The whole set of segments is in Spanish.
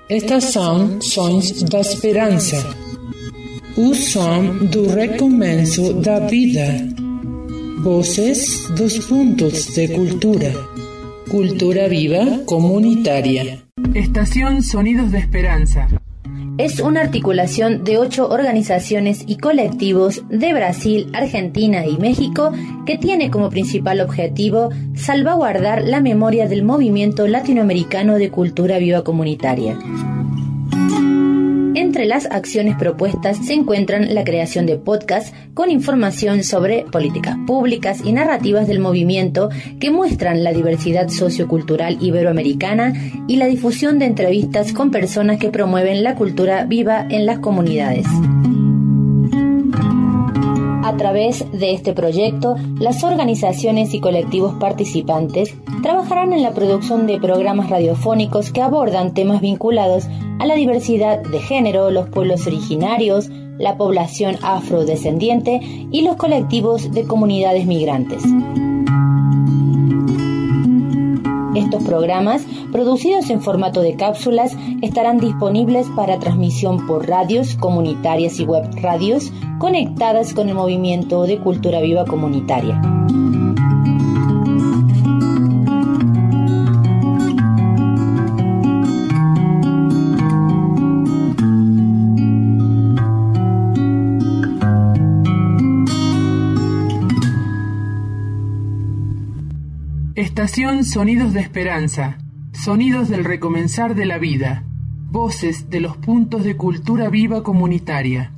Estas são sons da esperança, o som do recomeço da vida, voces dos puntos de cultura, cultura viva comunitaria. Estación Sonidos de Esperanza. Es una articulación de 8 organizaciones y colectivos de Brasil, Argentina y México que tiene como principal objetivo salvaguardar la memoria del movimiento latinoamericano de cultura viva comunitaria. Entre las acciones propuestas se encuentran la creación de podcasts con información sobre políticas públicas y narrativas del movimiento que muestran la diversidad sociocultural iberoamericana y la difusión de entrevistas con personas que promueven la cultura viva en las comunidades. A través de este proyecto, las organizaciones y colectivos participantes trabajarán en la producción de programas radiofónicos que abordan temas vinculados a la diversidad de género, los pueblos originarios, la población afrodescendiente y los colectivos de comunidades migrantes. Estos programas, producidos en formato de cápsulas, estarán disponibles para transmisión por radios comunitarias y web radios conectadas con el movimiento de cultura viva comunitaria. Estación Sonidos de Esperanza, sonidos del recomenzar de la vida, voces de los puntos de cultura viva comunitaria.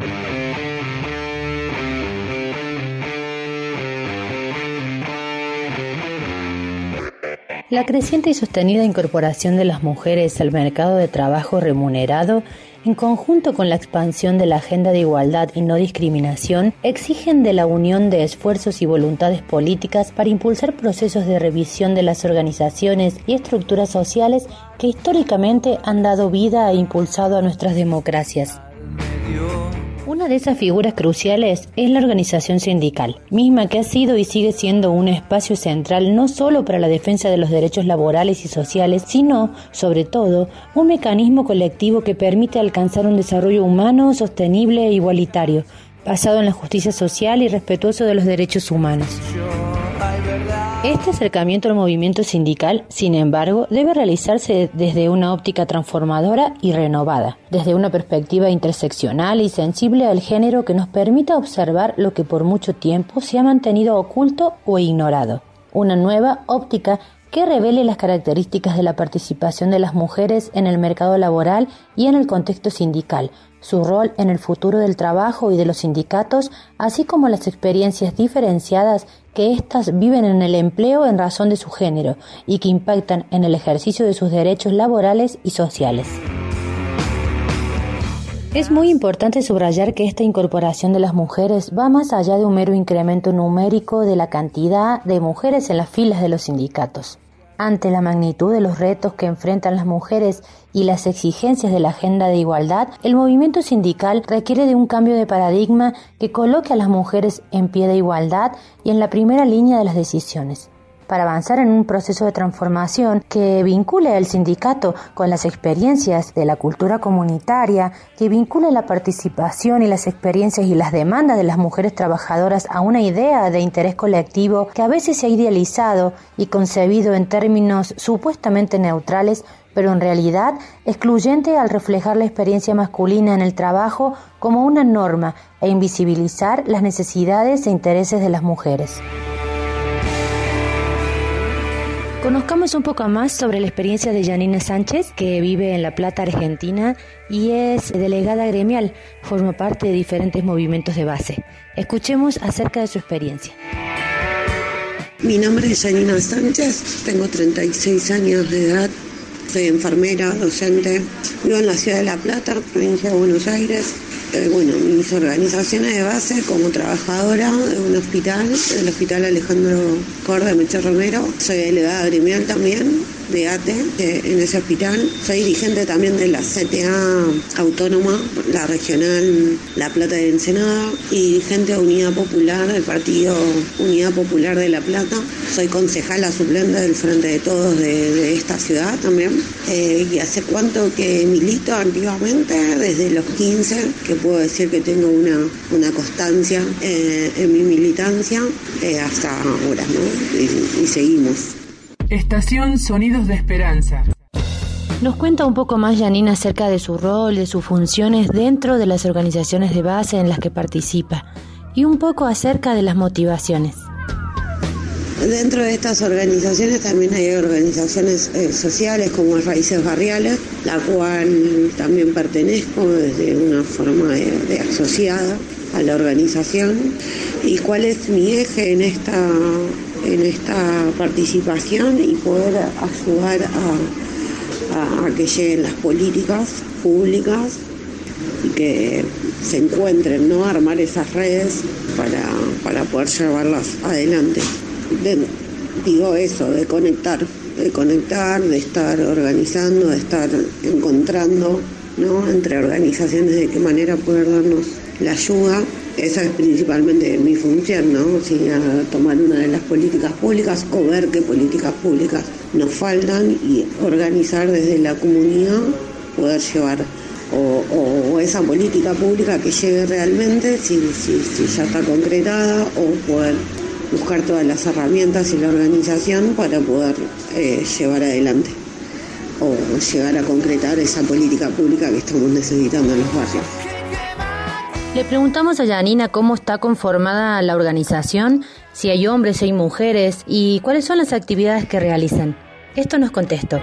La creciente y sostenida incorporación de las mujeres al mercado de trabajo remunerado, en conjunto con la expansión de la agenda de igualdad y no discriminación, exigen de la unión de esfuerzos y voluntades políticas para impulsar procesos de revisión de las organizaciones y estructuras sociales que históricamente han dado vida e impulsado a nuestras democracias. Una de esas figuras cruciales es la organización sindical, misma que ha sido y sigue siendo un espacio central no solo para la defensa de los derechos laborales y sociales, sino, sobre todo, un mecanismo colectivo que permite alcanzar un desarrollo humano, sostenible e igualitario, basado en la justicia social y respetuoso de los derechos humanos. Este acercamiento al movimiento sindical, sin embargo, debe realizarse desde una óptica transformadora y renovada, desde una perspectiva interseccional y sensible al género que nos permita observar lo que por mucho tiempo se ha mantenido oculto o ignorado. Una nueva óptica que revele las características de la participación de las mujeres en el mercado laboral y en el contexto sindical, su rol en el futuro del trabajo y de los sindicatos, así como las experiencias diferenciadas que éstas viven en el empleo en razón de su género y que impactan en el ejercicio de sus derechos laborales y sociales. Es muy importante subrayar que esta incorporación de las mujeres va más allá de un mero incremento numérico de la cantidad de mujeres en las filas de los sindicatos. Ante la magnitud de los retos que enfrentan las mujeres y las exigencias de la agenda de igualdad, el movimiento sindical requiere de un cambio de paradigma que coloque a las mujeres en pie de igualdad y en la primera línea de las decisiones. Para avanzar en un proceso de transformación que vincule al sindicato con las experiencias de la cultura comunitaria, que vincule la participación y las experiencias y las demandas de las mujeres trabajadoras a una idea de interés colectivo que a veces se ha idealizado y concebido en términos supuestamente neutrales, pero en realidad excluyente al reflejar la experiencia masculina en el trabajo como una norma e invisibilizar las necesidades e intereses de las mujeres. Conozcamos un poco más sobre la experiencia de Janina Sánchez, que vive en La Plata, Argentina, y es delegada gremial, forma parte de diferentes movimientos de base. Escuchemos acerca de su experiencia. Mi nombre es Janina Sánchez, tengo 36 años de edad, soy enfermera, docente, vivo en la ciudad de La Plata, provincia de Buenos Aires. Mis organizaciones de base como trabajadora de un hospital, el Hospital Alejandro Korda Mecher Romero. Soy delegada gremial también de ATE en ese hospital. Soy dirigente también de la CTA Autónoma, la regional La Plata de Ensenada, y dirigente de Unidad Popular, del partido Unidad Popular de La Plata. Soy concejala suplente del Frente de Todos de esta ciudad también. Y hace cuánto que milito activamente, desde los 15, que puedo decir que tengo una constancia en mi militancia hasta ahora, ¿no? Y seguimos. Estación Sonidos de Esperanza. Nos cuenta un poco más Janina acerca de su rol, de sus funciones dentro de las organizaciones de base en las que participa y un poco acerca de las motivaciones. Dentro de estas organizaciones también hay organizaciones sociales como Raíces Barriales, la cual también pertenezco desde una forma de asociada a la organización. ¿Y cuál es mi eje en esta participación? Y poder ayudar a que lleguen las políticas públicas y que se encuentren, ¿no? Armar esas redes para poder llevarlas adelante. Digo eso, de conectar, de estar organizando, de estar encontrando, ¿no? Entre organizaciones de qué manera poder darnos la ayuda. Esa es principalmente mi función, ¿no? Tomar una de las políticas públicas o ver qué políticas públicas nos faltan y organizar desde la comunidad, poder llevar o esa política pública que llegue realmente, si ya está concretada, o poder buscar todas las herramientas y la organización para poder llevar adelante o llegar a concretar esa política pública que estamos necesitando en los barrios. Le preguntamos a Janina cómo está conformada la organización, si hay hombres, si hay mujeres y cuáles son las actividades que realizan. Esto nos contestó.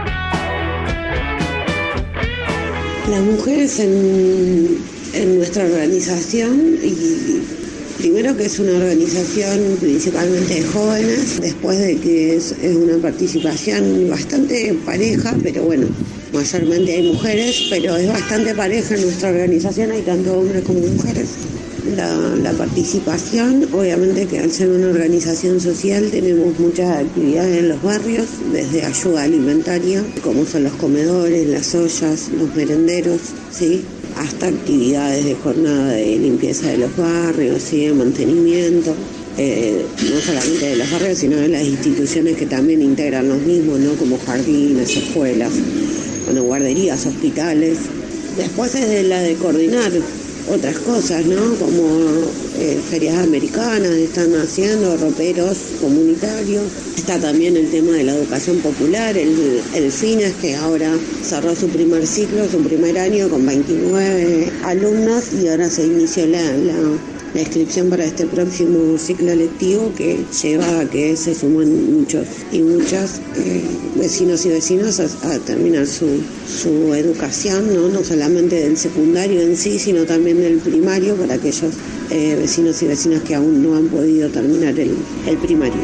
Las mujeres en nuestra organización, y primero que es una organización principalmente de jóvenes, después de que es una participación bastante pareja, pero bueno, mayormente hay mujeres, pero es bastante pareja en nuestra organización, hay tanto hombres como mujeres. La participación, obviamente que al ser una organización social tenemos muchas actividades en los barrios, desde ayuda alimentaria, como son los comedores, las ollas, los merenderos, ¿sí?, hasta actividades de jornada de limpieza de los barrios, ¿sí?, de mantenimiento, no solamente de los barrios, sino de las instituciones que también integran los mismos, ¿no?, como jardines, escuelas, bueno, guarderías, hospitales. Después es de la de coordinar otras cosas, ¿no?, como ferias americanas están haciendo, roperos comunitarios. Está también el tema de la educación popular, el FINES, que ahora cerró su primer ciclo, su primer año con 29 alumnos, y ahora se inició la inscripción para este próximo ciclo lectivo, que lleva a que se suman muchos y muchas vecinos y vecinas a terminar su educación, no solamente del secundario en sí, sino también del primario, para aquellos vecinos y vecinas que aún no han podido terminar el primario.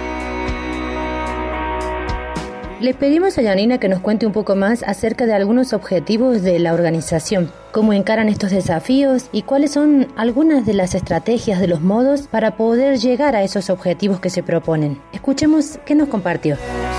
Le pedimos a Janina que nos cuente un poco más acerca de algunos objetivos de la organización, cómo encaran estos desafíos y cuáles son algunas de las estrategias, de los modos para poder llegar a esos objetivos que se proponen. Escuchemos qué nos compartió.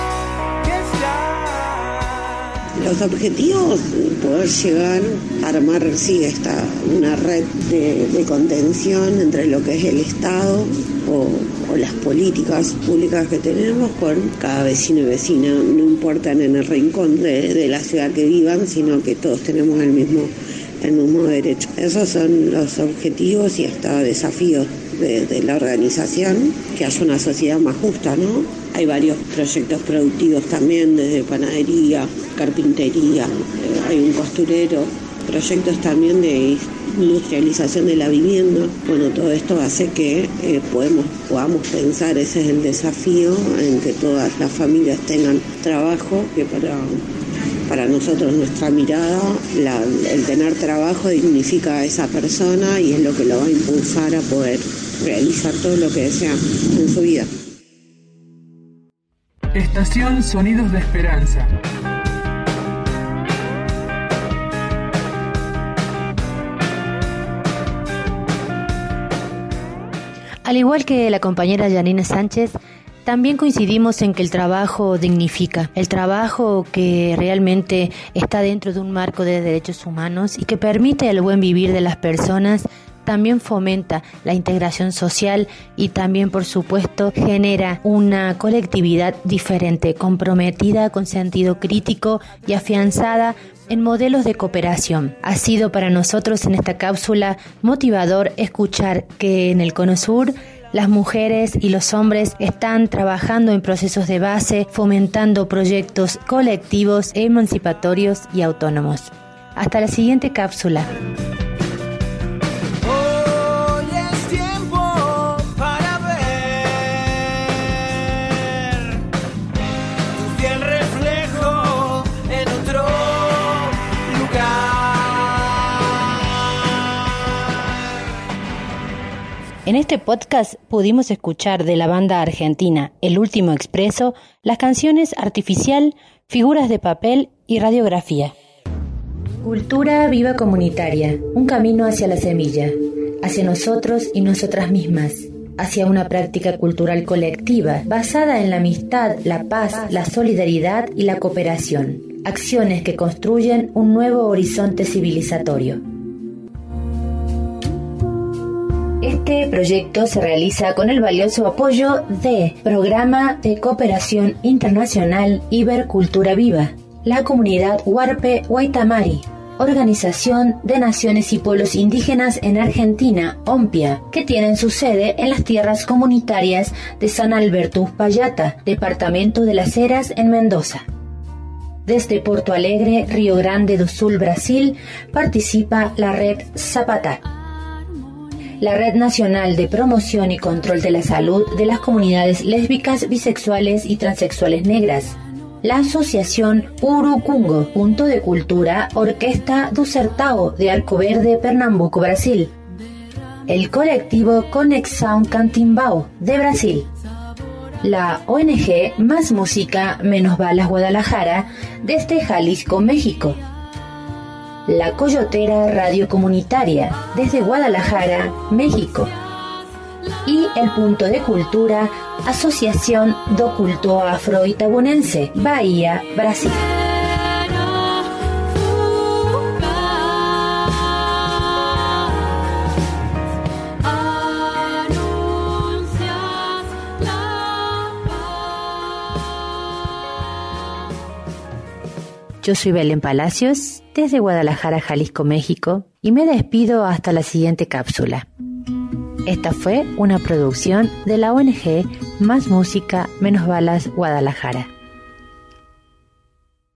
Los objetivos, poder llegar a armar, una red de contención entre lo que es el Estado o las políticas públicas que tenemos con cada vecino y vecina, no importan en el rincón de la ciudad que vivan, sino que todos tenemos el mismo derecho. Esos son los objetivos y hasta desafíos de la organización, que haya una sociedad más justa, ¿no? Hay varios proyectos productivos también, desde panadería, carpintería, hay un costurero, proyectos también de industrialización de la vivienda. Bueno, todo esto hace que podamos pensar, ese es el desafío, en que todas las familias tengan trabajo, que para nosotros nuestra mirada, el tener trabajo dignifica a esa persona y es lo que lo va a impulsar a poder realizar todo lo que desea en su vida. Estación Sonidos de Esperanza. Al igual que la compañera Janina Sánchez, También coincidimos en que el trabajo dignifica, el trabajo que realmente está dentro de un marco de derechos humanos y que permite el buen vivir de las personas, también fomenta la integración social y también, por supuesto, genera una colectividad diferente, comprometida con sentido crítico y afianzada en modelos de cooperación. Ha sido para nosotros en esta cápsula motivador escuchar que en el Cono Sur las mujeres y los hombres están trabajando en procesos de base, fomentando proyectos colectivos, emancipatorios y autónomos. Hasta la siguiente cápsula. En este podcast pudimos escuchar de la banda argentina El Último Expreso las canciones Artificial, Figuras de Papel y Radiografía. Cultura viva comunitaria, un camino hacia la semilla, hacia nosotros y nosotras mismas, hacia una práctica cultural colectiva basada en la amistad, la paz, la solidaridad y la cooperación, acciones que construyen un nuevo horizonte civilizatorio. Este proyecto se realiza con el valioso apoyo de Programa de Cooperación Internacional Ibercultura Viva, la comunidad Huarpe Waitamari, Organización de Naciones y Pueblos Indígenas en Argentina, OMPIA, que tienen su sede en las tierras comunitarias de San Alberto Uspallata, departamento de Las Heras, en Mendoza. Desde Porto Alegre, Río Grande do Sul, Brasil, participa la red Zapata, la Red Nacional de Promoción y Control de la Salud de las Comunidades Lésbicas, Bisexuales y Transexuales Negras, la Asociación Urucungo, Punto de Cultura, Orquesta do Sertão de Arco Verde, Pernambuco, Brasil, el colectivo Conexão Cantimbau de Brasil, la ONG Más Música Menos Balas Guadalajara desde Jalisco, México, la Coyotera Radio Comunitaria desde Guadalajara, México, y el Punto de Cultura Asociación do Culto Afro-Itabunense, Bahía, Brasil. Yo soy Belén Palacios, desde Guadalajara, Jalisco, México, y me despido hasta la siguiente cápsula. Esta fue una producción de la ONG Más Música Menos Balas Guadalajara.